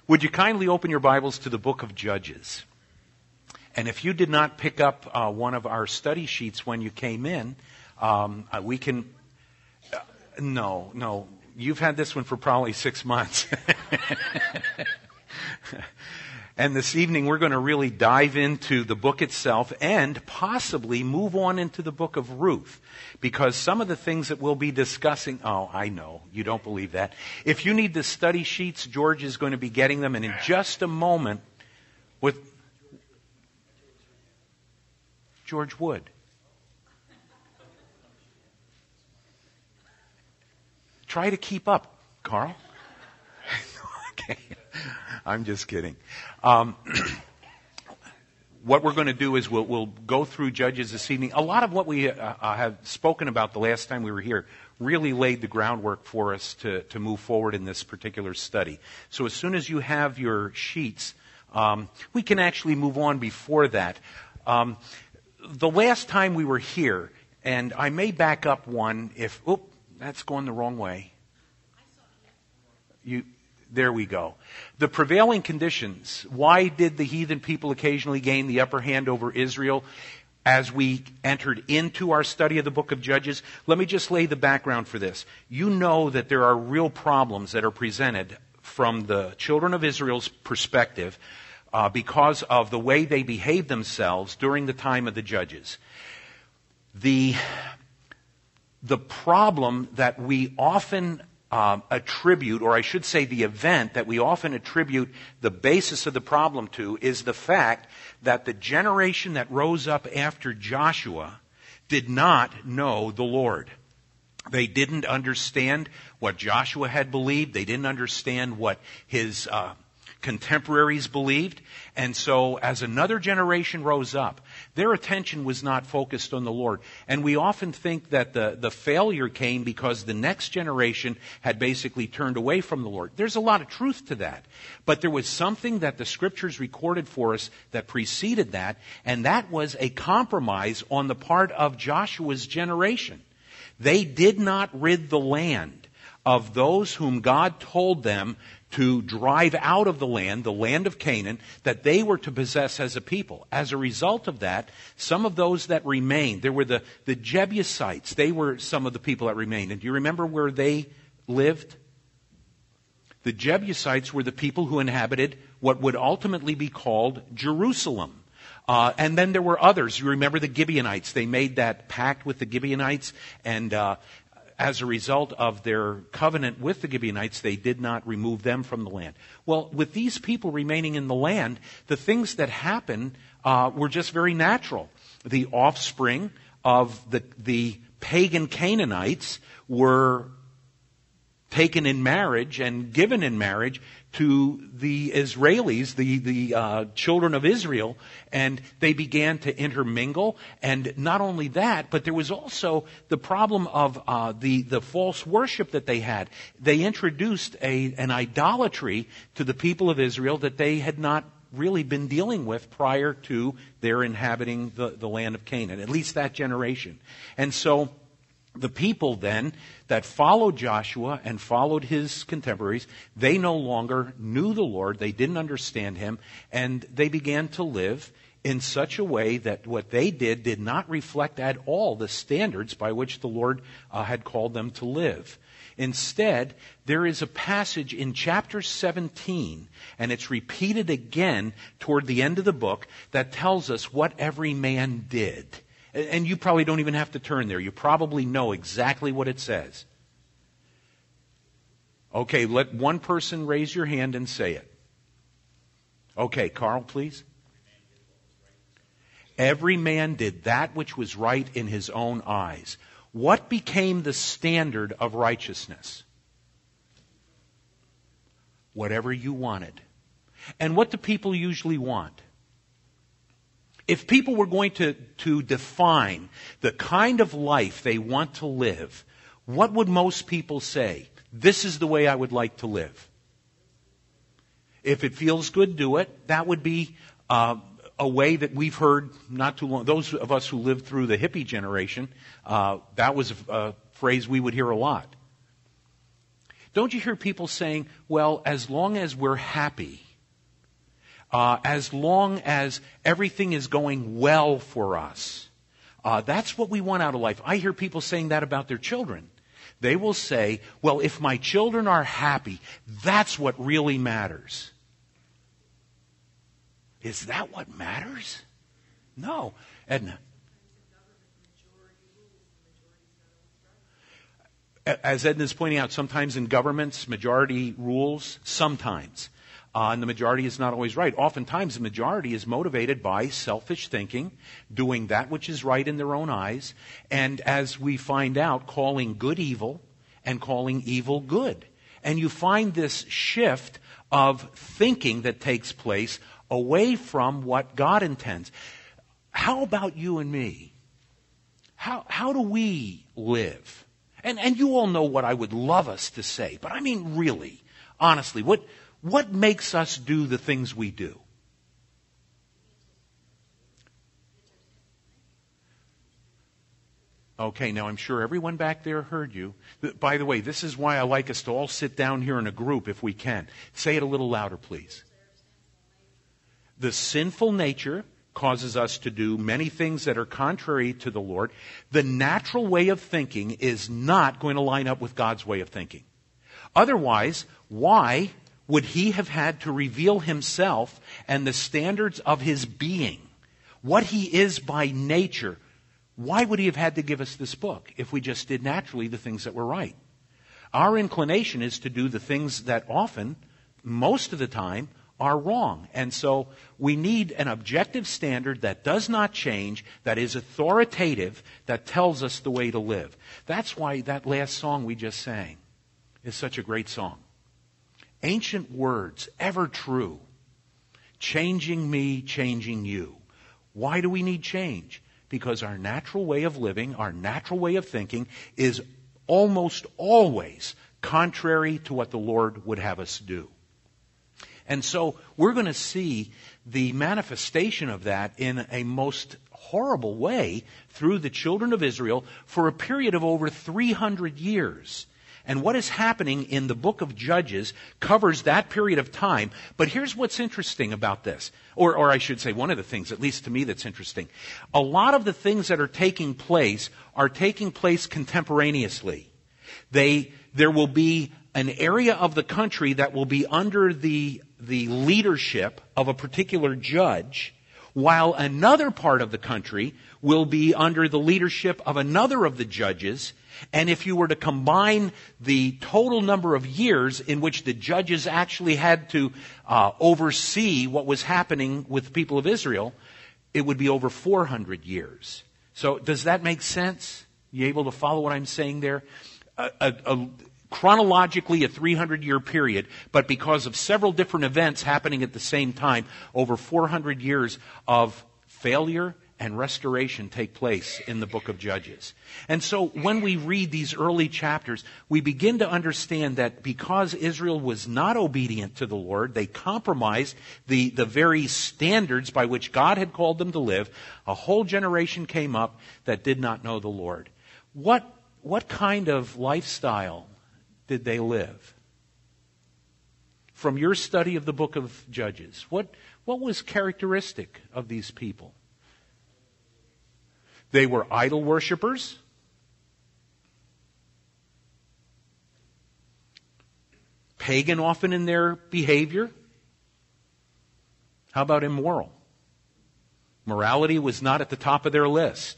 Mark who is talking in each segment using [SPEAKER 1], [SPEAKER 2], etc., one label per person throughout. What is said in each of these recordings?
[SPEAKER 1] Would you kindly open your Bibles to the book of Judges? And if you did not pick up one of our study sheets when you came in, we can... No. You've had this one for probably 6 months. And this evening we're going to really dive into the book itself and possibly move on into the book of Ruth. Because some of the things that we'll be discussing... Oh, I know. You don't believe that. If you need the study sheets, George is going to be getting them. And in just a moment, with George Wood. Try to keep up, Carl. Okay. I'm just kidding. What we're going to do is we'll go through Judges this evening. A lot of what we have spoken about the last time we were here really laid the groundwork for us to move forward in this particular study. So as soon as you have your sheets, we can actually move on before that. The last time we were here, and I may back up one if... that's going the wrong way. There we go. The prevailing conditions. Why did the heathen people occasionally gain the upper hand over Israel as we entered into our study of the book of Judges? Let me just lay the background for this. You know that there are real problems that are presented from the children of Israel's perspective because of the way they behaved themselves during the time of the Judges. The problem that we often attribute, or I should say the event that we often attribute the basis of the problem to, is the fact that the generation that rose up after Joshua did not know the Lord. They didn't understand what Joshua had believed. They didn't understand what his contemporaries believed. And so as another generation rose up, their attention was not focused on the Lord. And we often think that the failure came because the next generation had basically turned away from the Lord. There's a lot of truth to that. But there was something that the Scriptures recorded for us that preceded that, and that was a compromise on the part of Joshua's generation. They did not rid the land of those whom God told them to drive out of the land of Canaan, that they were to possess as a people. As a result of that, some of those that remained, there were the Jebusites. They were some of the people that remained. And do you remember where they lived? The Jebusites were the people who inhabited what would ultimately be called Jerusalem. And then there were others. You remember the Gibeonites. They made that pact with the Gibeonites, and as a result of their covenant with the Gibeonites, they did not remove them from the land. Well, with these people remaining in the land, the things that happened were just very natural. The offspring of the pagan Canaanites were taken in marriage and given in marriage to the Israelis, the children of Israel, and they began to intermingle. And not only that, but there was also the problem of the false worship that they had. They introduced an idolatry to the people of Israel that they had not really been dealing with prior to their inhabiting the land of Canaan, at least that generation. And so the people then that followed Joshua and followed his contemporaries, they no longer knew the Lord, they didn't understand him, and they began to live in such a way that what they did not reflect at all the standards by which the Lord had called them to live. Instead, there is a passage in chapter 17, and it's repeated again toward the end of the book, that tells us what every man did. And you probably don't even have to turn there. You probably know exactly what it says. Okay, let one person raise your hand and say it. Okay, Carl, please. Every man did that which was right in his own eyes. What became the standard of righteousness? Whatever you wanted. And what do people usually want? If people were going to define the kind of life they want to live, what would most people say? This is the way I would like to live. If it feels good, do it. That would be a way that we've heard not too long. Those of us who lived through the hippie generation, that was a phrase we would hear a lot. Don't you hear people saying, well, as long as we're happy, as long as everything is going well for us, that's what we want out of life. I hear people saying that about their children. They will say, well, if my children are happy, that's what really matters. Is that what matters? No. Edna. As Edna is pointing out, sometimes in governments, majority rules, sometimes. And the majority is not always right. Oftentimes, the majority is motivated by selfish thinking, doing that which is right in their own eyes, and as we find out, calling good evil and calling evil good. And you find this shift of thinking that takes place away from what God intends. How about you and me? How do we live? And you all know what I would love us to say, but I mean really, honestly, what makes us do the things we do? Okay, now I'm sure everyone back there heard you. By the way, this is why I like us to all sit down here in a group if we can. Say it a little louder, please. The sinful nature causes us to do many things that are contrary to the Lord. The natural way of thinking is not going to line up with God's way of thinking. Otherwise, why would He have had to reveal Himself and the standards of His being, what He is by nature? Why would He have had to give us this book if we just did naturally the things that were right? Our inclination is to do the things that often, most of the time, are wrong. And so we need an objective standard that does not change, that is authoritative, that tells us the way to live. That's why that last song we just sang is such a great song. Ancient words, ever true, changing me, changing you. Why do we need change? Because our natural way of living, our natural way of thinking is almost always contrary to what the Lord would have us do. And so we're going to see the manifestation of that in a most horrible way through the children of Israel for a period of over 300 years. And what is happening in the book of Judges covers that period of time. But here's what's interesting about this. Or I should say, one of the things, at least to me, that's interesting. A lot of the things that are taking place contemporaneously. There will be an area of the country that will be under the leadership of a particular judge, while another part of the country will be under the leadership of another of the judges. And if you were to combine the total number of years in which the judges actually had to oversee what was happening with the people of Israel, it would be over 400 years. So does that make sense? You able to follow what I'm saying there? Chronologically, a 300-year period, but because of several different events happening at the same time, over 400 years of failure and restoration take place in the book of Judges. And so when we read these early chapters, we begin to understand that because Israel was not obedient to the Lord, they compromised the very standards by which God had called them to live. A whole generation came up that did not know the Lord. What kind of lifestyle did they live? From your study of the book of Judges, what was characteristic of these people? They were idol worshipers. Pagan often in their behavior. How about immoral? Morality was not at the top of their list.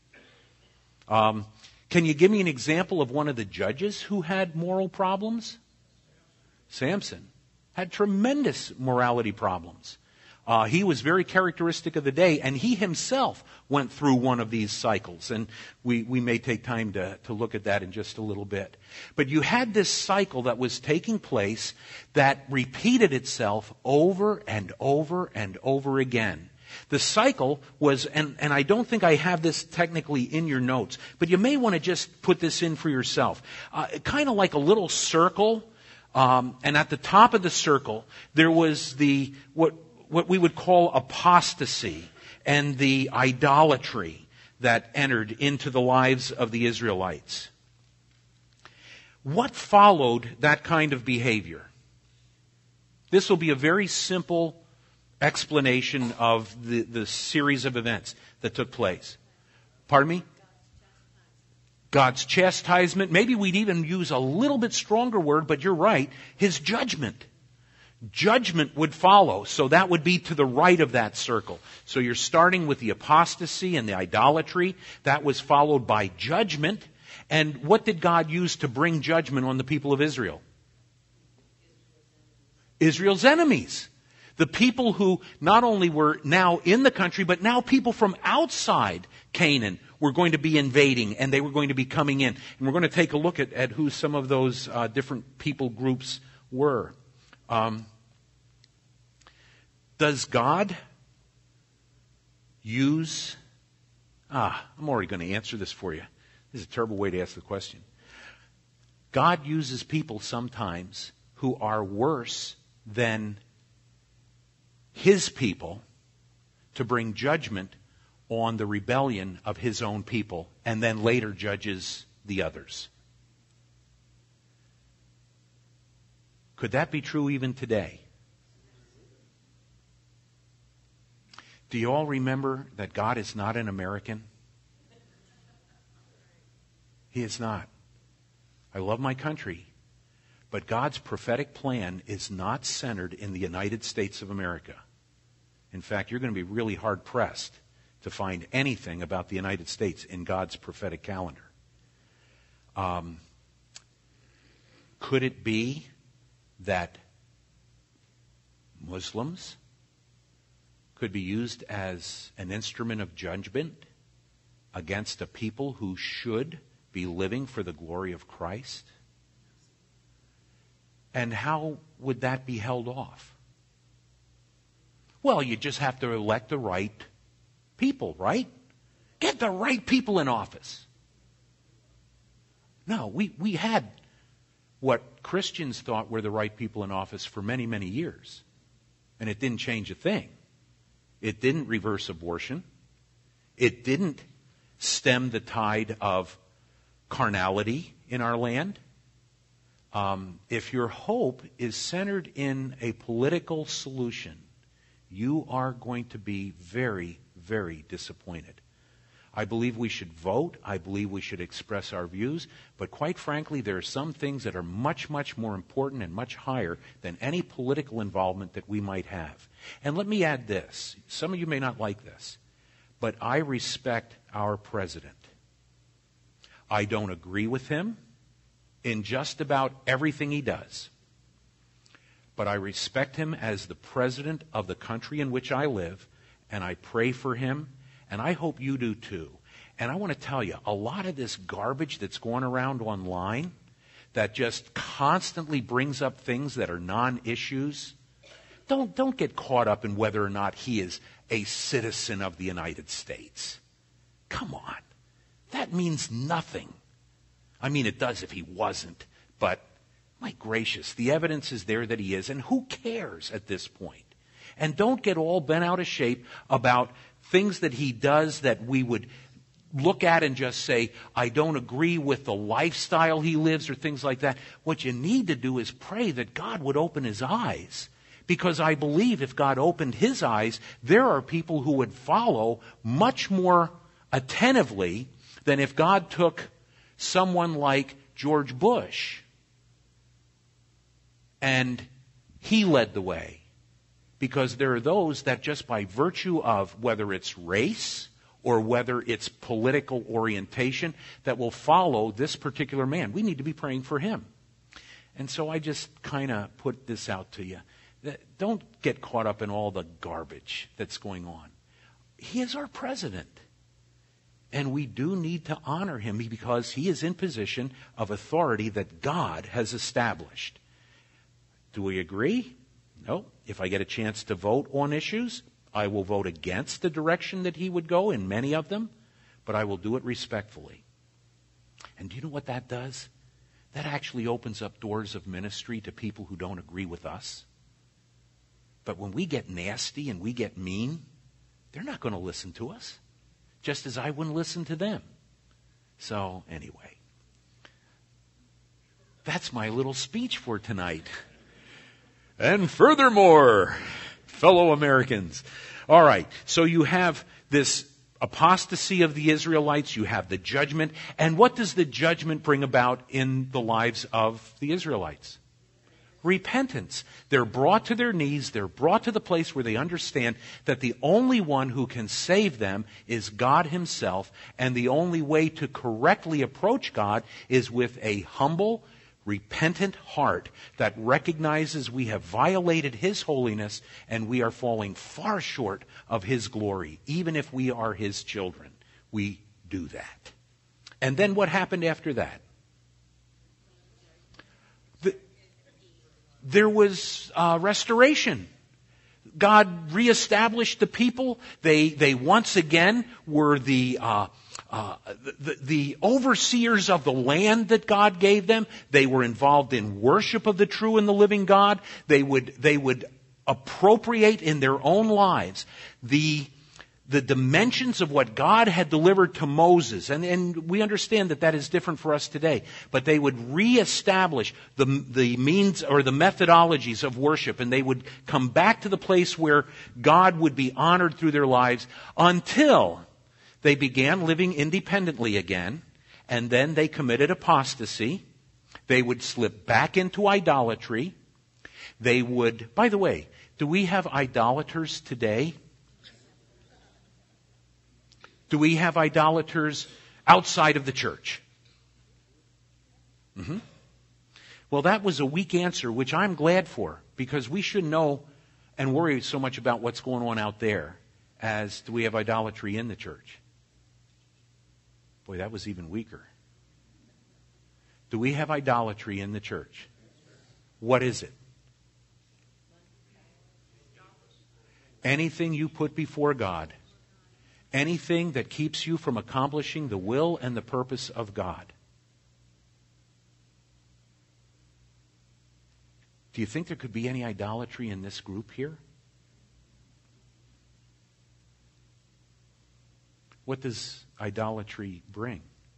[SPEAKER 1] Can you give me an example of one of the judges who had moral problems? Samson had tremendous morality problems. He was very characteristic of the day, and he himself went through one of these cycles. And we may take time to look at that in just a little bit. But you had this cycle that was taking place that repeated itself over and over and over again. The cycle was, and I don't think I have this technically in your notes, but you may want to just put this in for yourself. Kind of like a little circle, and at the top of the circle, there was what we would call apostasy and the idolatry that entered into the lives of the Israelites. What followed that kind of behavior? This will be a very simple explanation of the series of events that took place. Pardon me? God's chastisement. Maybe we'd even use a little bit stronger word, but you're right. His judgment. Judgment would follow, so that would be to the right of that circle. So you're starting with the apostasy and the idolatry. That was followed by judgment. And what did God use to bring judgment on the people of Israel? Israel's enemies. The people who not only were now in the country, but now people from outside Canaan were going to be invading, and they were going to be coming in. And we're going to take a look at who some of those different people groups were. Does God use... I'm already going to answer this for you. This is a terrible way to ask the question. God uses people sometimes who are worse than His people to bring judgment on the rebellion of His own people, and then later judges the others. Could that be true even today? Do you all remember that God is not an American? He is not. I love my country, but God's prophetic plan is not centered in the United States of America. In fact, you're going to be really hard-pressed to find anything about the United States in God's prophetic calendar. Could it be that Muslims could be used as an instrument of judgment against a people who should be living for the glory of Christ? And how would that be held off? Well, you just have to elect the right people, right? Get the right people in office. No, we had what Christians thought were the right people in office for many, many years. And it didn't change a thing. It didn't reverse abortion. It didn't stem the tide of carnality in our land. If your hope is centered in a political solution, you are going to be very, very disappointed. I believe we should vote. I believe we should express our views. But quite frankly, there are some things that are much, much more important and much higher than any political involvement that we might have. And let me add this. Some of you may not like this, but I respect our president. I don't agree with him in just about everything he does. But I respect him as the president of the country in which I live, and I pray for him, and I hope you do too. And I want to tell you, a lot of this garbage that's going around online that just constantly brings up things that are non-issues, don't get caught up in whether or not he is a citizen of the United States. Come on. That means nothing. I mean, it does if he wasn't, but my gracious, the evidence is there that he is, and who cares at this point? And don't get all bent out of shape about things that he does that we would look at and just say, I don't agree with the lifestyle he lives or things like that. What you need to do is pray that God would open his eyes. Because I believe if God opened his eyes, there are people who would follow much more attentively than if God took someone like George Bush and he led the way. Because there are those that just by virtue of whether it's race or whether it's political orientation that will follow this particular man. We need to be praying for him. And so I just kind of put this out to you. Don't get caught up in all the garbage that's going on. He is our president. And we do need to honor him because he is in position of authority that God has established. Do we agree? No. If I get a chance to vote on issues, I will vote against the direction that he would go in many of them, but I will do it respectfully. And do you know what that does? That actually opens up doors of ministry to people who don't agree with us. But when we get nasty and we get mean, they're not going to listen to us, just as I wouldn't listen to them. So, anyway. That's my little speech for tonight. And furthermore, fellow Americans. All right, so you have this apostasy of the Israelites, you have the judgment, and what does the judgment bring about in the lives of the Israelites? Repentance. They're brought to their knees, they're brought to the place where they understand that the only one who can save them is God Himself, and the only way to correctly approach God is with a humble, repentant heart that recognizes we have violated His holiness and we are falling far short of His glory. Even if we are His children, we do that. And then what happened after that? There was restoration. God reestablished the people. They once again were the overseers of the land that God gave them. They were involved in worship of the true and the living God. They would appropriate in their own lives the dimensions of what God had delivered to Moses. And we understand that is different for us today. But they would reestablish the means or the methodologies of worship. And they would come back to the place where God would be honored through their lives until they began living independently again. And then they committed apostasy. They would slip back into idolatry. They would, by the way, do we have idolaters today? Do we have idolaters outside of the church? Mm-hmm. Well, that was a weak answer, which I'm glad for, because we shouldn't know and worry so much about what's going on out there as do we have idolatry in the church. Boy, that was even weaker. Do we have idolatry in the church? What is it? Anything you put before God. Anything that keeps you from accomplishing the will and the purpose of God. Do you think there could be any idolatry in this group here? What does idolatry bring?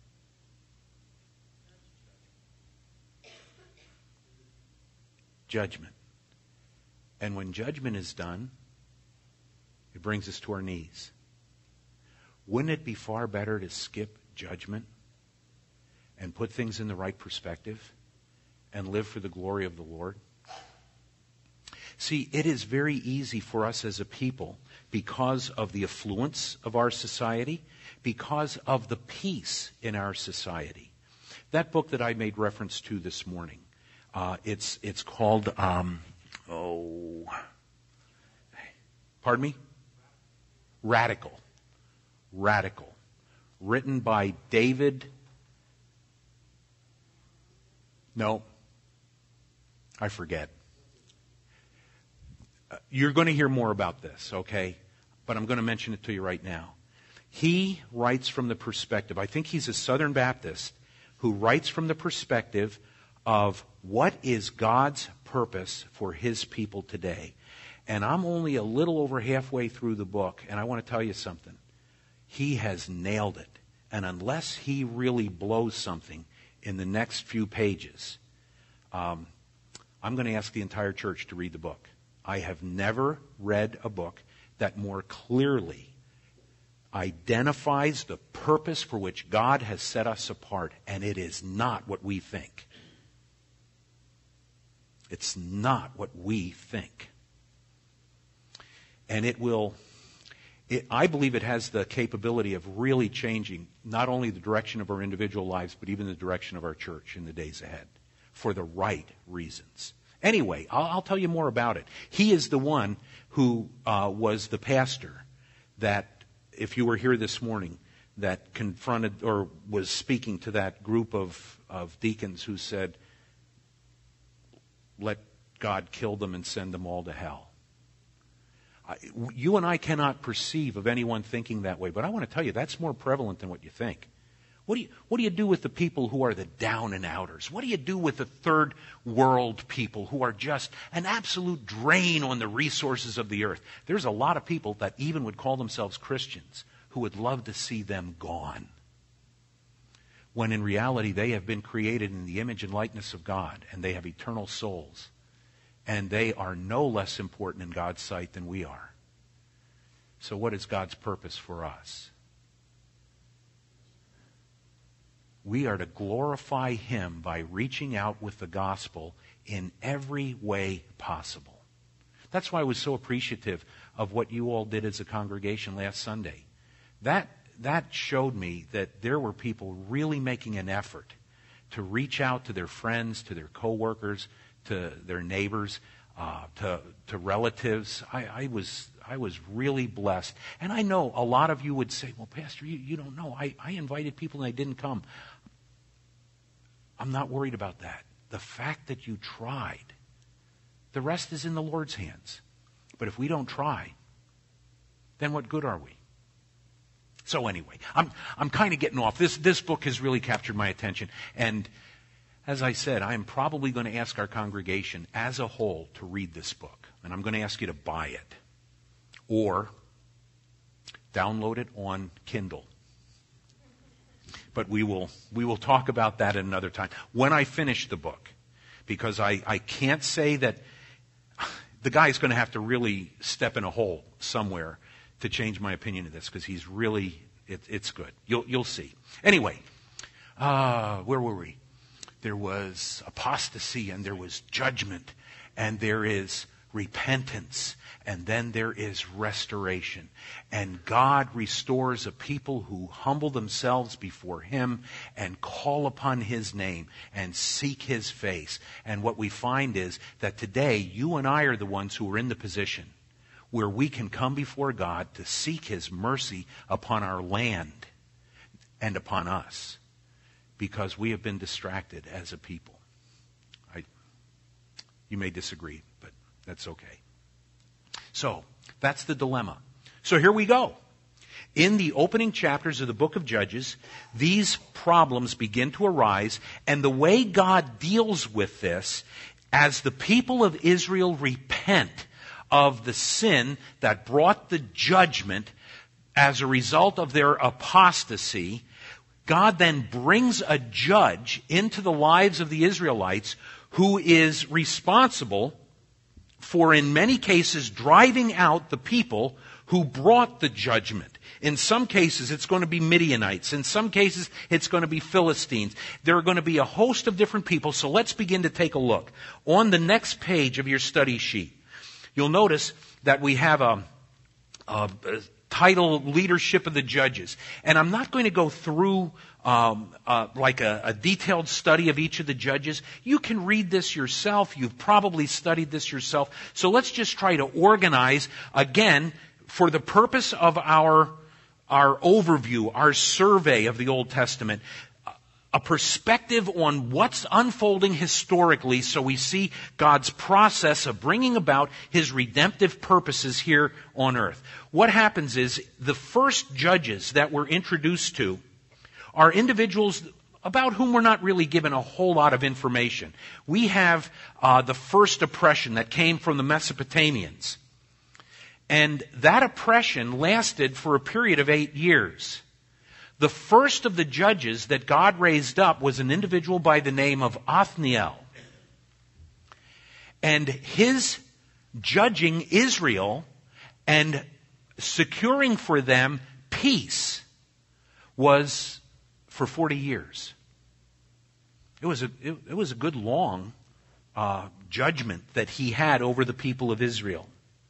[SPEAKER 1] Judgment. And when judgment is done, it brings us to our knees. Wouldn't it be far better to skip judgment and put things in the right perspective and live for the glory of the Lord? See, it is very easy for us as a people, because of the affluence of our society, because of the peace in our society. That book that I made reference to this morning, it's called, pardon me? Radical. Written by David. No, I forget. You're going to hear more about this, okay? But I'm going to mention it to you right now. He writes from the perspective, I think he's a Southern Baptist, who writes from the perspective of what is God's purpose for His people today. And I'm only a little over halfway through the book, and I want to tell you something. He has nailed it. And unless he really blows something in the next few pages, I'm going to ask the entire church to read the book. I have never read a book that more clearly identifies the purpose for which God has set us apart, and it is not what we think. It's not what we think. And I believe it has the capability of really changing not only the direction of our individual lives, but even the direction of our church in the days ahead, for the right reasons. Anyway, I'll tell you more about it. He is the one who was the pastor that, if you were here this morning, that confronted or was speaking to that group of deacons who said, let God kill them and send them all to hell. You and I cannot perceive of anyone thinking that way, but I want to tell you that's more prevalent than what you think. What do you do with the people who are the down and outers? What do you do with the third world people who are just an absolute drain on the resources of the earth? There's a lot of people that even would call themselves Christians who would love to see them gone. when in reality they have been created in the image and likeness of God, and they have eternal souls, and they are no less important in God's sight than we are. So what is God's purpose for us? We are to glorify Him by reaching out with the gospel in every way possible. That's why I was so appreciative of what you all did as a congregation last Sunday. That showed me that there were people really making an effort to reach out to their friends, to their coworkers, to their neighbors, to relatives. I was really blessed. And I know a lot of you would say, well, Pastor, you don't know. I invited people and they didn't come. I'm not worried about that. The fact that you tried, the rest is in the Lord's hands. But if we don't try, then what good are we? So anyway, I'm kind of getting off. This book has really captured my attention. And as I said, I am probably going to ask our congregation as a whole to read this book. And I'm going to ask you to buy it or download it on Kindle. But we will talk about that at another time when I finish the book. Because I can't say that the guy's going to have to really step in a hole somewhere to change my opinion of this, because he's really, it's good. You'll see. Anyway, where were we? There was apostasy, and there was judgment, and there is repentance, and then there is restoration. And God restores a people who humble themselves before Him and call upon His name and seek His face. And what we find is that today, you and I are the ones who are in the position where we can come before God to seek His mercy upon our land and upon us, because we have been distracted as a people. You may disagree, but that's okay. So, that's the dilemma. So here we go. In the opening chapters of the book of Judges, these problems begin to arise, and the way God deals with this, as the people of Israel repent of the sin that brought the judgment as a result of their apostasy, God then brings a judge into the lives of the Israelites who is responsible for, in many cases, driving out the people who brought the judgment. In some cases, it's going to be Midianites. In some cases, it's going to be Philistines. There are going to be a host of different people, so let's begin to take a look. On the next page of your study sheet, you'll notice that we have a title, Leadership of the Judges. And I'm not going to go through like a detailed study of each of the judges. You can read this yourself. You've probably studied this yourself. So let's just try to organize, again, for the purpose of our overview, our survey of the Old Testament, a perspective on what's unfolding historically, so we see God's process of bringing about His redemptive purposes here on earth. What happens is the first judges that we're introduced to are individuals about whom we're not really given a whole lot of information. We have the first oppression that came from the Mesopotamians. And that oppression lasted for a period of 8 years. The first of the judges that God raised up was an individual by the name of Othniel. And his judging Israel and securing for them peace was for 40 years. It was a good long judgment that he had over the people of Israel.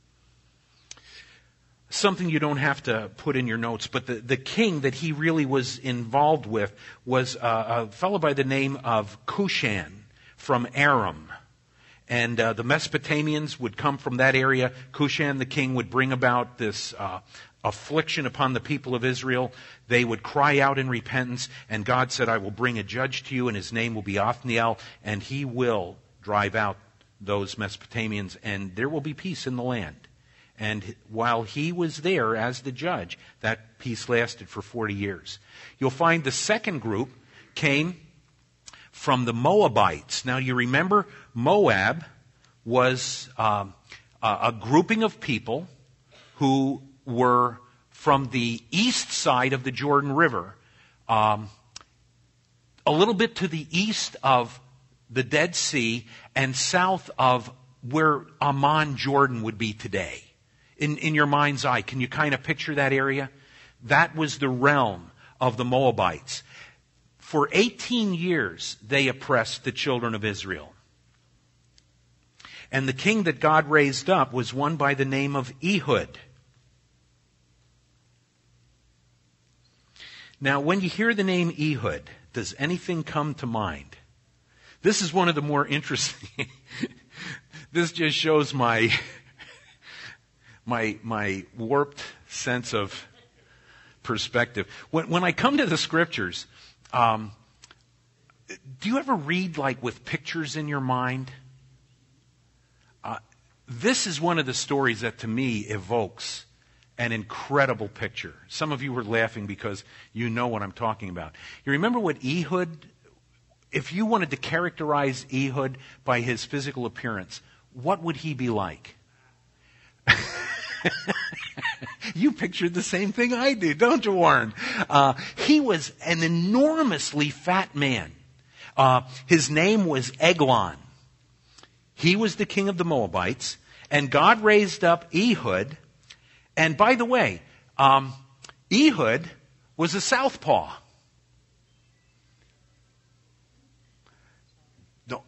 [SPEAKER 1] Something you don't have to put in your notes, but the king that he really was involved with was a fellow by the name of Cushan from Aram. And the Mesopotamians would come from that area. Cushan, the king, would bring about this affliction upon the people of Israel. They would cry out in repentance, and God said, I will bring a judge to you, and his name will be Othniel, and he will drive out those Mesopotamians, and there will be peace in the land. And while he was there as the judge, that peace lasted for 40 years. You'll find the second group came from the Moabites. Now you remember Moab was a grouping of people who were from the east side of the Jordan River. a little bit to the east of the Dead Sea and south of where Amman, Jordan would be today. In your mind's eye, can you kind of picture that area? That was the realm of the Moabites. For 18 years, they oppressed the children of Israel. And the king that God raised up was one by the name of Ehud. Now, when you hear the name Ehud, does anything come to mind? This is one of the more interesting. This just shows my warped sense of perspective. When I come to the scriptures, do you ever read like with pictures in your mind? This is one of the stories that to me evokes an incredible picture. Some of you were laughing because you know what I'm talking about. You remember what Ehud, if you wanted to characterize Ehud by his physical appearance, what would he be like? You pictured the same thing I do, don't you, Warren? He was an enormously fat man. His name was Eglon. He was the king of the Moabites, and God raised up Ehud. And by the way, Ehud was a southpaw. No.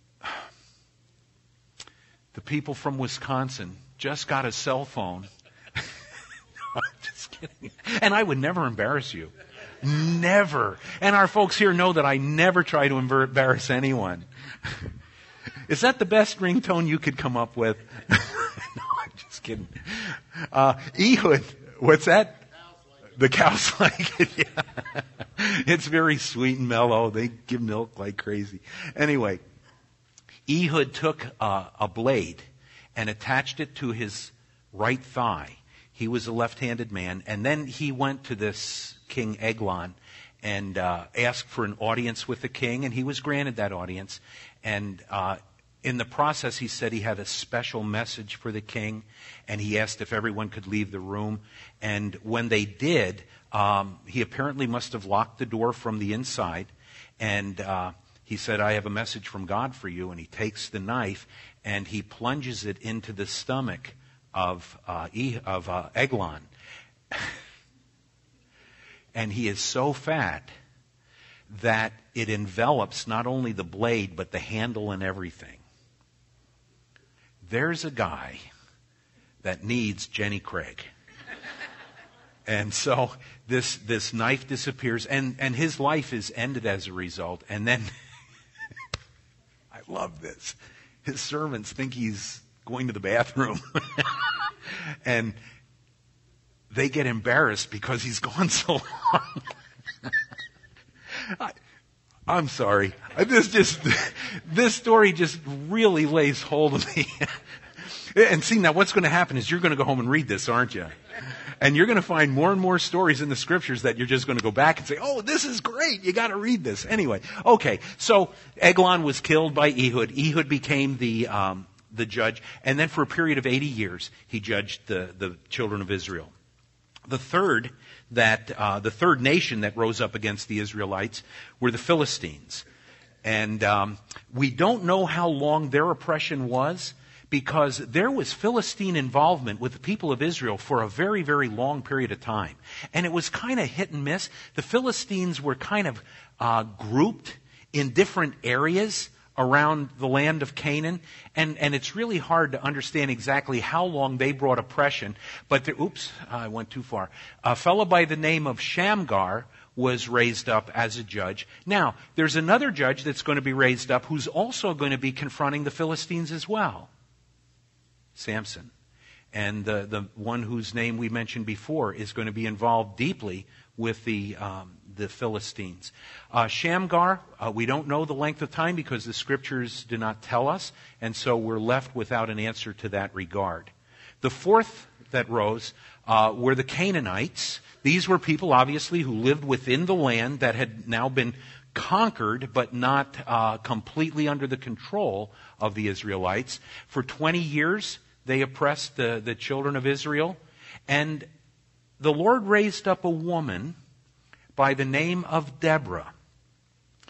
[SPEAKER 1] The people from Wisconsin just got a cell phone. I'm just kidding. And I would never embarrass you. Never. And our folks here know that I never try to embarrass anyone. Is that the best ringtone you could come up with? No, I'm just kidding. Ehud, what's that? The cows like it. Yeah. It's very sweet and mellow. They give milk like crazy. Anyway, Ehud took a blade and attached it to his right thigh. He was a left-handed man. And then he went to this King Eglon and asked for an audience with the king, and he was granted that audience. And in the process, he said he had a special message for the king, and he asked if everyone could leave the room. And when they did, he apparently must have locked the door from the inside, and he said, I have a message from God for you. And he takes the knife and he plunges it into the stomach of Eglon. And he is so fat that it envelops not only the blade, but the handle and everything. There's a guy that needs Jenny Craig. And so this knife disappears, and his life is ended as a result. And then, I love this, his servants think he's going to the bathroom. And they get embarrassed because he's gone so long. I'm sorry. This story just really lays hold of me. And see, now what's going to happen is you're going to go home and read this, aren't you? And you're going to find more and more stories in the scriptures that you're just going to go back and say, oh, this is great. You got to read this. Anyway, okay. So Eglon was killed by Ehud. Ehud became the judge. And then for a period of 80 years, he judged the children of Israel. The third nation that rose up against the Israelites were the Philistines. And we don't know how long their oppression was, because there was Philistine involvement with the people of Israel for a very, very long period of time. And it was kind of hit and miss. The Philistines were kind of grouped in different areas around the land of Canaan. And it's really hard to understand exactly how long they brought oppression. But, I went too far. A fellow by the name of Shamgar was raised up as a judge. Now, there's another judge that's going to be raised up who's also going to be confronting the Philistines as well. Samson. And the one whose name we mentioned before is going to be involved deeply with the Philistines. Shamgar, we don't know the length of time because the scriptures do not tell us, and so we're left without an answer to that regard. The fourth that rose were the Canaanites. These were people, obviously, who lived within the land that had now been conquered, but not completely under the control of the Israelites. For 20 years, they oppressed the children of Israel. And the Lord raised up a woman by the name of Deborah.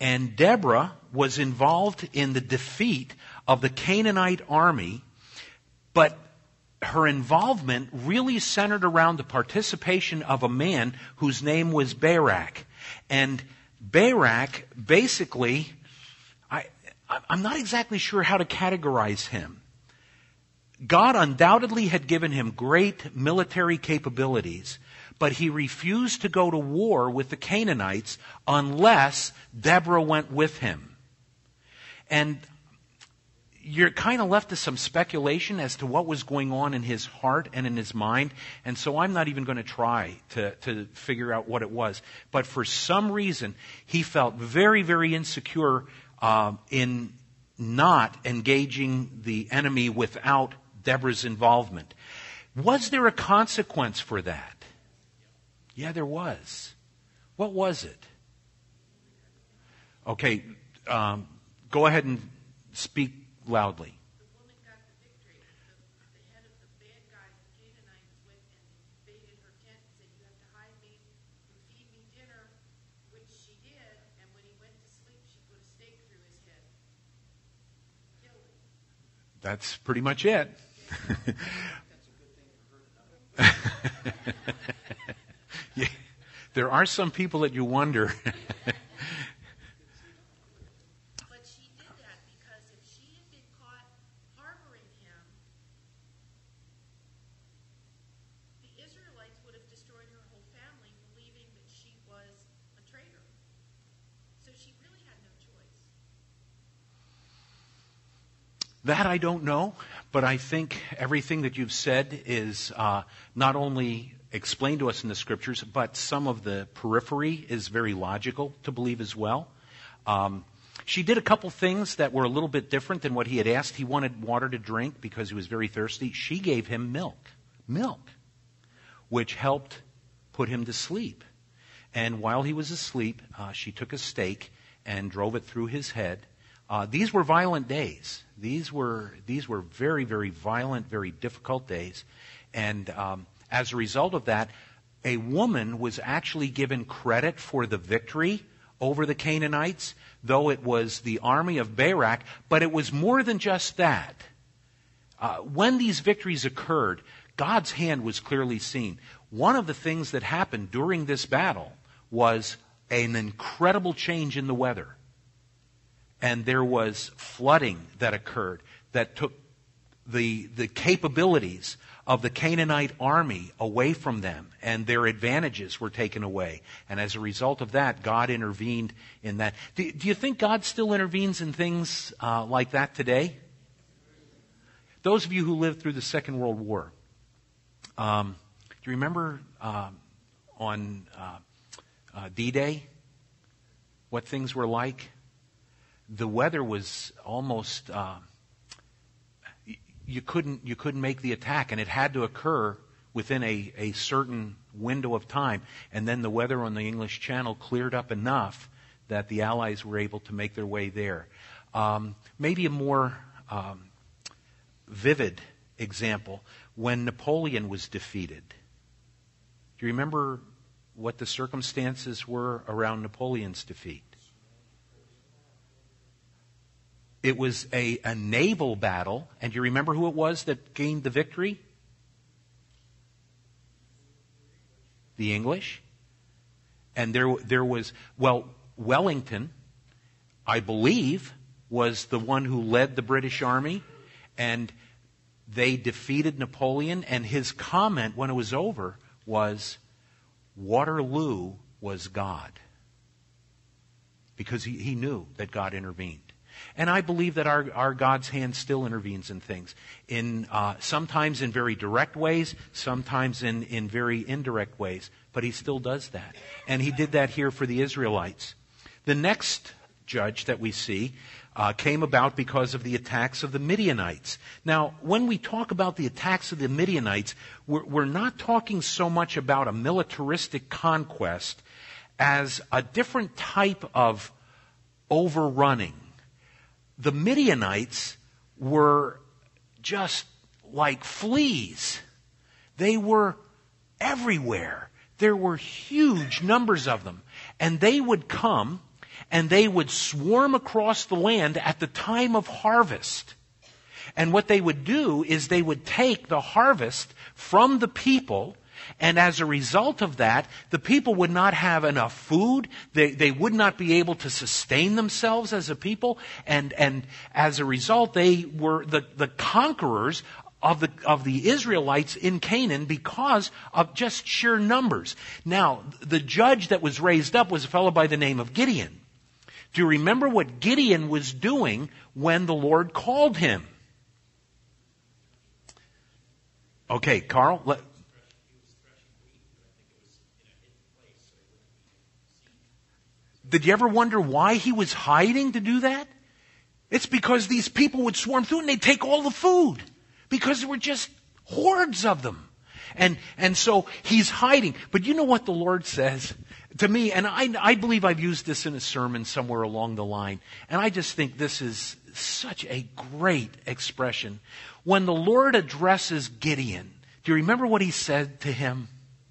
[SPEAKER 1] And Deborah was involved in the defeat of the Canaanite army, but her involvement really centered around the participation of a man whose name was Barak. And Barak, basically, I'm not exactly sure how to categorize him. God undoubtedly had given him great military capabilities, but he refused to go to war with the Canaanites unless Deborah went with him. And you're kind of left to some speculation as to what was going on in his heart and in his mind. And so I'm not even going to try to figure out what it was. But for some reason, he felt very, very insecure in not engaging the enemy without Deborah's involvement. Was there a consequence for that? Yeah, there was. What was it? Okay, go ahead and speak loudly.
[SPEAKER 2] The woman got the victory. The head of the bad guys, the Canaanites, went and invaded her tent and said, "You have to hide me and feed me dinner," which she did. And when he went to sleep, she put a stake through his head. Killed him.
[SPEAKER 1] That's pretty much it. Yeah, there are some people that you wonder.
[SPEAKER 2] But she did that because if she had been caught harboring him, the Israelites would have destroyed her whole family, believing that she was a traitor. So she really had no choice.
[SPEAKER 1] That I don't know, but I think everything that you've said is not only explained to us in the Scriptures, but some of the periphery is very logical to believe as well. She did a couple things that were a little bit different than what he had asked. He wanted water to drink because he was very thirsty. She gave him milk, which helped put him to sleep. And while he was asleep, she took a stake and drove it through his head. These were violent days. These were very, very violent, very difficult days. And as a result of that, a woman was actually given credit for the victory over the Canaanites, though it was the army of Barak, but it was more than just that. When these victories occurred, God's hand was clearly seen. One of the things that happened during this battle was an incredible change in the weather. And there was flooding that occurred that took the capabilities of the Canaanite army away from them, and their advantages were taken away. And as a result of that, God intervened in that. Do you think God still intervenes in things like that today? Those of you who lived through the Second World War, do you remember on D-Day what things were like? The weather was almost you couldn't make the attack, and it had to occur within a certain window of time. And then the weather on the English Channel cleared up enough that the Allies were able to make their way there. Maybe a more vivid example, when Napoleon was defeated. Do you remember what the circumstances were around Napoleon's defeat? It was a naval battle, and do you remember who it was that gained the victory? The English. And there was, Wellington, I believe, was the one who led the British Army, and they defeated Napoleon, and his comment when it was over was, Waterloo was God. Because he knew that God intervened. And I believe that our God's hand still intervenes in things. Sometimes in very direct ways, sometimes in very indirect ways. But he still does that. And he did that here for the Israelites. The next judge that we see came about because of the attacks of the Midianites. Now, when we talk about the attacks of the Midianites, we're not talking so much about a militaristic conquest as a different type of overrunning. The Midianites were just like fleas. They were everywhere. There were huge numbers of them. And they would come and they would swarm across the land at the time of harvest. And what they would do is they would take the harvest from the people, and as a result of that, the people would not have enough food. They would not be able to sustain themselves as a people. And as a result, they were the conquerors of the Israelites in Canaan because of just sheer numbers. Now, the judge that was raised up was a fellow by the name of Gideon. Do you remember what Gideon was doing when the Lord called him? Okay, Carl. Did you ever wonder why he was hiding to do that? It's because these people would swarm through and they'd take all the food. Because there were just hordes of them. And so he's hiding. But you know what the Lord says to me? And I believe I've used this in a sermon somewhere along the line. And I just think this is such a great expression. When the Lord addresses Gideon, do you remember what he said to him?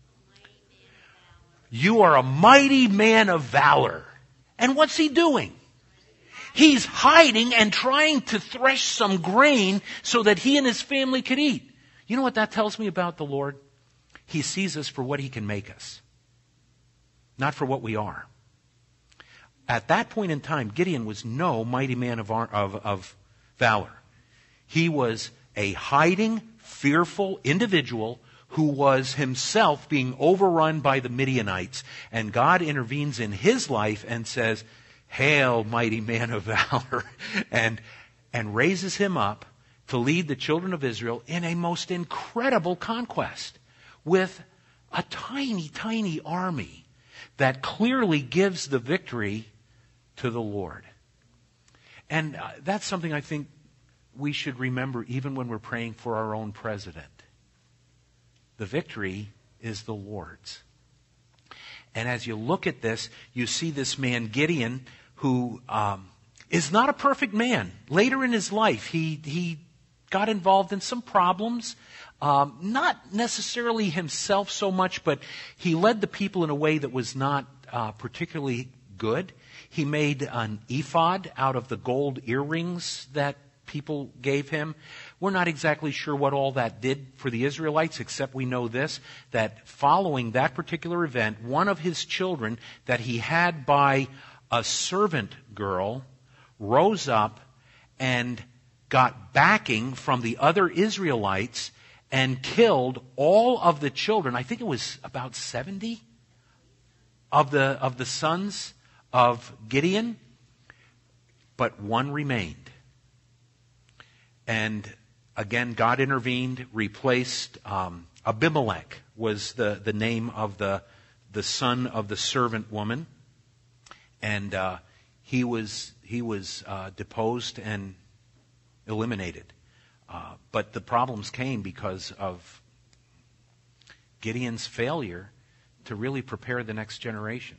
[SPEAKER 1] You are a mighty man of valor. And what's he doing? He's hiding and trying to thresh some grain so that he and his family could eat. You know what that tells me about the Lord? He sees us for what he can make us, not for what we are. At that point in time, Gideon was no mighty man of valor. He was a hiding, fearful individual who was himself being overrun by the Midianites. And God intervenes in his life and says, Hail, mighty man of valor, and raises him up to lead the children of Israel in a most incredible conquest with a tiny, tiny army that clearly gives the victory to the Lord. And that's something I think we should remember even when we're praying for our own president. The victory is the Lord's. And as you look at this, you see this man Gideon, who is not a perfect man. Later in his life, he got involved in some problems. Not necessarily himself so much, but he led the people in a way that was not particularly good. He made an ephod out of the gold earrings that people gave him. We're not exactly sure what all that did for the Israelites, except we know this, that following that particular event, one of his children that he had by a servant girl rose up and got backing from the other Israelites and killed all of the children. I think it was about 70 of the sons of Gideon, but one remained. And again, God intervened, replaced Abimelech was the name of the son of the servant woman, and he was deposed and eliminated. But the problems came because of Gideon's failure to really prepare the next generation.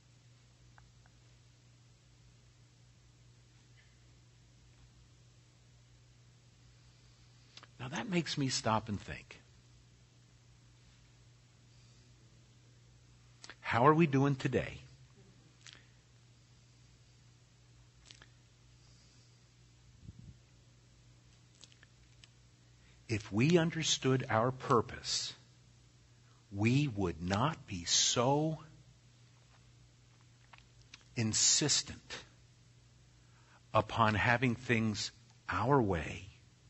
[SPEAKER 1] Now that makes me stop and think. How are we doing today? If we understood our purpose, we would not be so insistent upon having things our way,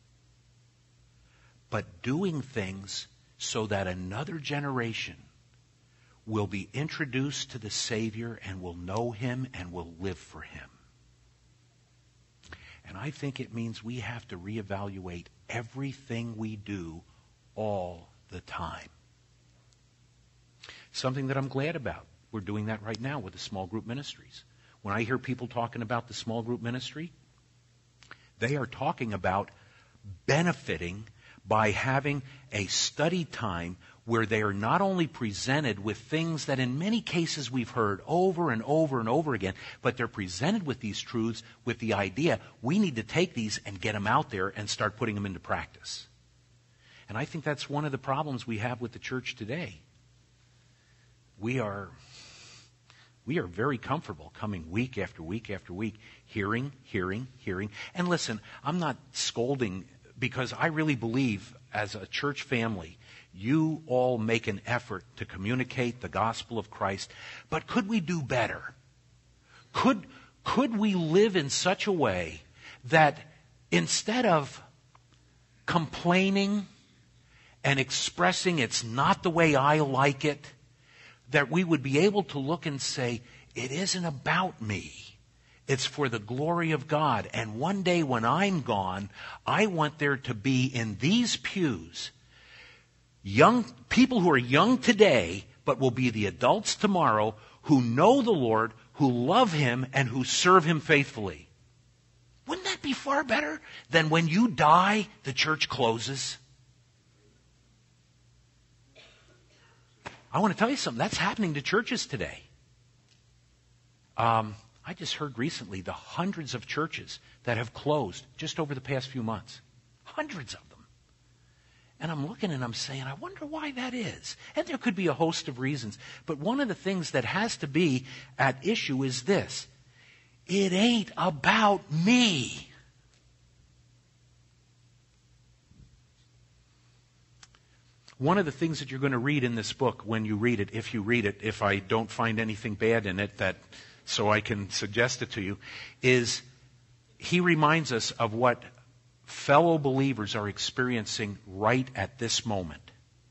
[SPEAKER 1] but doing things so that another generation will be introduced to the Savior and will know Him and will live for Him. And I think it means we have to reevaluate everything we do all the time. Something that I'm glad about. We're doing that right now with the small group ministries. When I hear people talking about the small group ministry, they are talking about benefiting by having a study time where they are not only presented with things that in many cases we've heard over and over and over again, but they're presented with these truths with the idea we need to take these and get them out there and start putting them into practice. And I think that's one of the problems we have with the church today. We We are very comfortable coming week after week after week, hearing. And listen, I'm not scolding because I really believe as a church family, you all make an effort to communicate the gospel of Christ. But could we do better? Could we live in such a way that instead of complaining and expressing it's not the way I like it, that we would be able to look and say, it isn't about me. It's for the glory of God. And one day when I'm gone, I want there to be in these pews young people who are young today, but will be the adults tomorrow, who know the Lord, who love Him, and who serve Him faithfully. Wouldn't that be far better than when you die, the church closes? I want to tell you something. That's happening to churches today. I just heard recently the hundreds of churches that have closed just over the past few months. Hundreds of them. And I'm looking and I'm saying, I wonder why that is. And there could be a host of reasons. But one of the things that has to be at issue is this. It ain't about me. One of the things that you're going to read in this book when you read it, if I don't find anything bad in it so I can suggest it to you, is he reminds us of what fellow believers are experiencing right at this moment.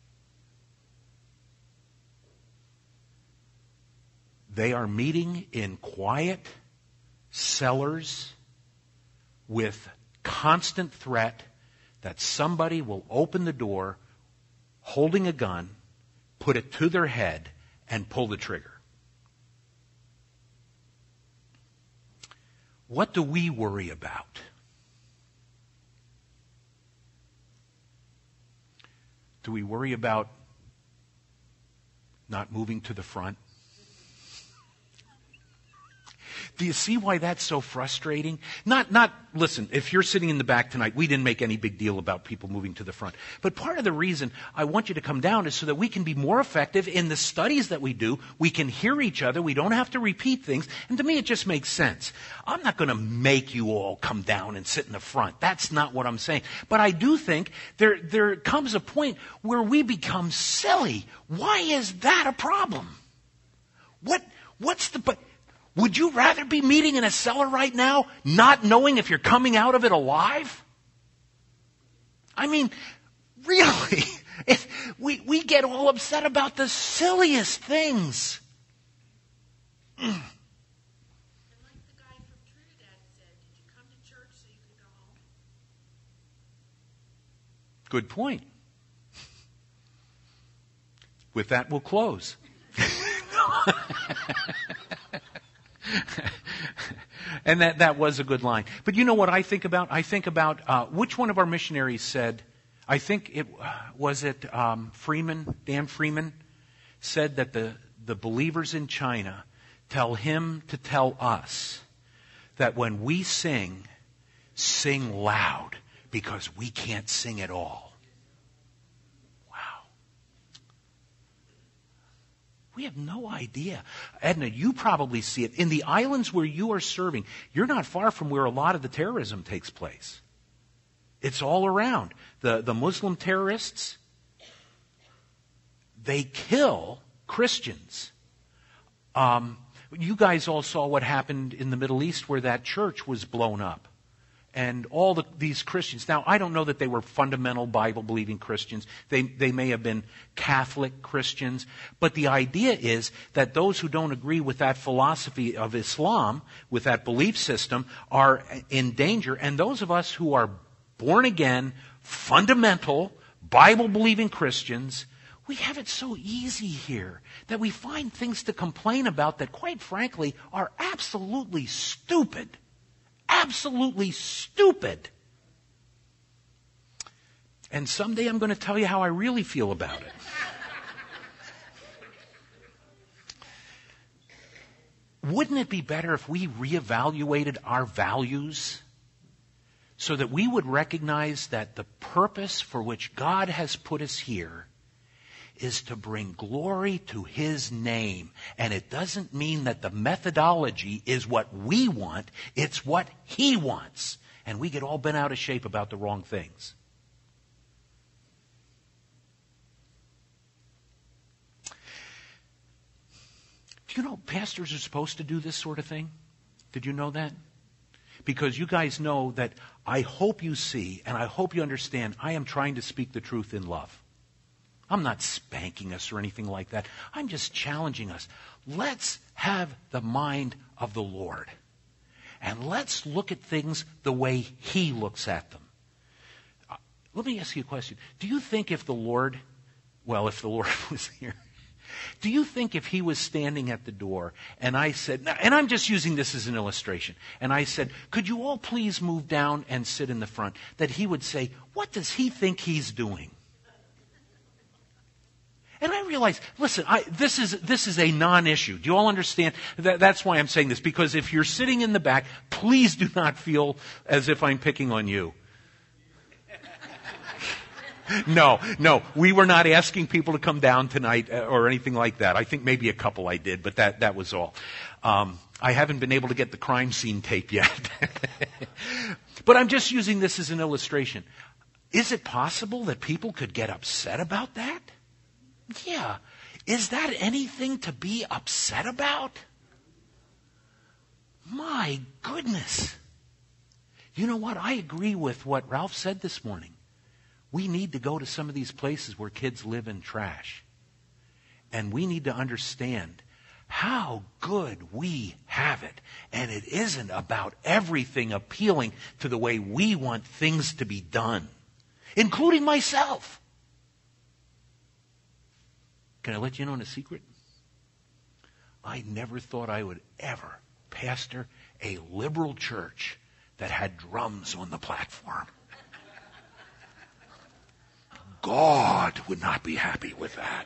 [SPEAKER 1] They are meeting in quiet cellars with constant threat that somebody will open the door holding a gun, put it to their head, and pull the trigger. What do we worry about? Do we worry about not moving to the front? Do you see why that's so frustrating? Listen, if you're sitting in the back tonight, we didn't make any big deal about people moving to the front. But part of the reason I want you to come down is so that we can be more effective in the studies that we do. We can hear each other. We don't have to repeat things. And to me, it just makes sense. I'm not going to make you all come down and sit in the front. That's not what I'm saying. But I do think there comes a point where we become silly. Why is that a problem? Would you rather be meeting in a cellar right now, not knowing if you're coming out of it alive? I mean, really, we get all upset about the silliest things.
[SPEAKER 2] And like the guy from Trinidad said, did you come to church so you could go home?
[SPEAKER 1] Good point. With that, we'll close. And that was a good line. But you know what I think about? I think about which one of our missionaries said, I think Freeman, Dan Freeman, said that the believers in China tell him to tell us that when we sing loud because we can't sing at all. We have no idea. Edna, you probably see it. In the islands where you are serving, you're not far from where a lot of the terrorism takes place. It's all around. The Muslim terrorists, they kill Christians. You guys all saw what happened in the Middle East where that church was blown up. And all these Christians. Now, I don't know that they were fundamental Bible-believing Christians. They may have been Catholic Christians. But the idea is that those who don't agree with that philosophy of Islam, with that belief system, are in danger. And those of us who are born again, fundamental, Bible-believing Christians, we have it so easy here that we find things to complain about that, quite frankly, are absolutely stupid. Absolutely stupid. And someday I'm going to tell you how I really feel about it. Wouldn't it be better if we reevaluated our values so that we would recognize that the purpose for which God has put us here is to bring glory to His name. And it doesn't mean that the methodology is what we want. It's what He wants. And we get all bent out of shape about the wrong things. Do you know pastors are supposed to do this sort of thing? Did you know that? Because you guys know that I hope you see and I hope you understand I am trying to speak the truth in love. I'm not spanking us or anything like that. I'm just challenging us. Let's have the mind of the Lord. And let's look at things the way He looks at them. Let me ask you a question. Do you think if the Lord was here, do you think if He was standing at the door and I said, and I'm just using this as an illustration, and I said, could you all please move down and sit in the front, that He would say, what does He think He's doing? And I realize, listen, this is a non-issue. Do you all understand? That's why I'm saying this, because if you're sitting in the back, please do not feel as if I'm picking on you. No, we were not asking people to come down tonight or anything like that. I think maybe a couple I did, but that was all. I haven't been able to get the crime scene tape yet. But I'm just using this as an illustration. Is it possible that people could get upset about that? Yeah. Is that anything to be upset about? My goodness. You know what? I agree with what Ralph said this morning. We need to go to some of these places where kids live in trash. And we need to understand how good we have it. And it isn't about everything appealing to the way we want things to be done, including myself. Can I let you know in a secret? I never thought I would ever pastor a liberal church that had drums on the platform. God would not be happy with that.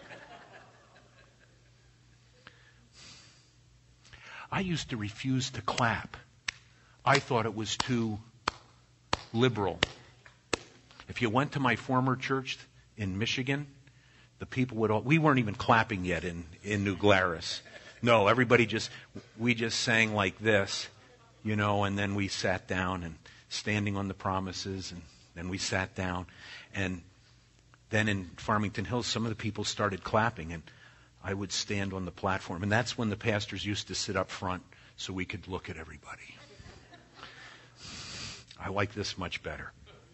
[SPEAKER 1] I used to refuse to clap. I thought it was too liberal. If you went to my former church in Michigan, the people we weren't even clapping yet in New Glarus. No, we just sang like this, and then we sat down and standing on the promises, and then we sat down. And then in Farmington Hills, some of the people started clapping, and I would stand on the platform. And that's when the pastors used to sit up front so we could look at everybody. I like this much better.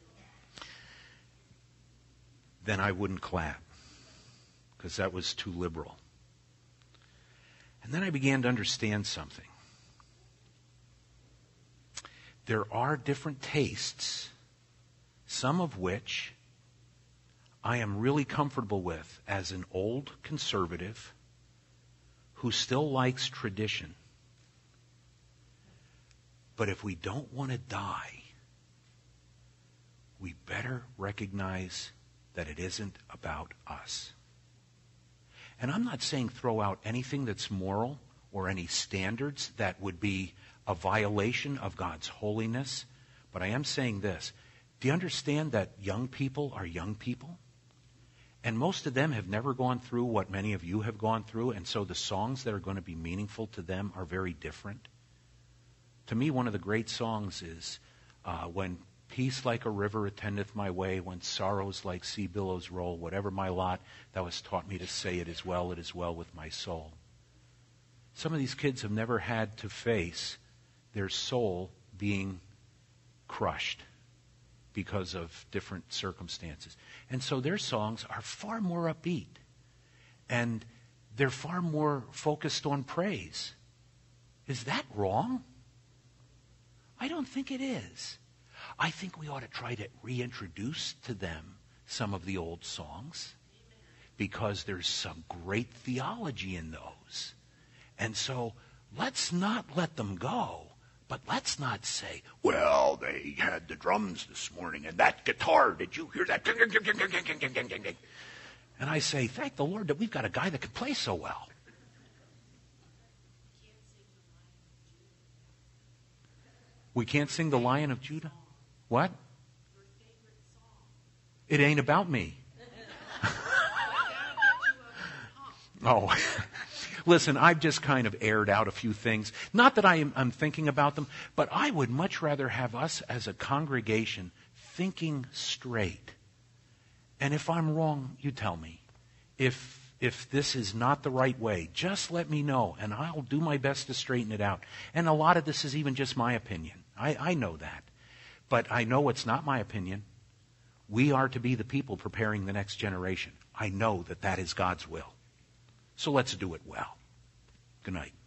[SPEAKER 1] Then I wouldn't clap because that was too liberal. And then I began to understand something. There are different tastes, some of which I am really comfortable with as an old conservative who still likes tradition. But if we don't want to die, we better recognize that it isn't about us. And I'm not saying throw out anything that's moral or any standards that would be a violation of God's holiness, but I am saying this. Do you understand that young people are young people? And most of them have never gone through what many of you have gone through, and so the songs that are going to be meaningful to them are very different. To me, one of the great songs is when peace like a river attendeth my way, when sorrows like sea billows roll, whatever my lot, thou hast taught me to say it is well with my soul. Some of these kids have never had to face their soul being crushed because of different circumstances. And so their songs are far more upbeat. And they're far more focused on praise. Is that wrong? I don't think it is. I think we ought to try to reintroduce to them some of the old songs because there's some great theology in those. And so let's not let them go. But let's not say, well, they had the drums this morning and that guitar, did you hear that? And I say, thank the Lord that we've got a guy that can play so well. We can't sing the Lion of Judah? What? It ain't about me. Oh, listen, I've just kind of aired out a few things. Not that I'm thinking about them, but I would much rather have us as a congregation thinking straight. And if I'm wrong, you tell me. If this is not the right way, just let me know, and I'll do my best to straighten it out. And a lot of this is even just my opinion. I know that. But I know it's not my opinion. We are to be the people preparing the next generation. I know that that is God's will. So let's do it well. Good night.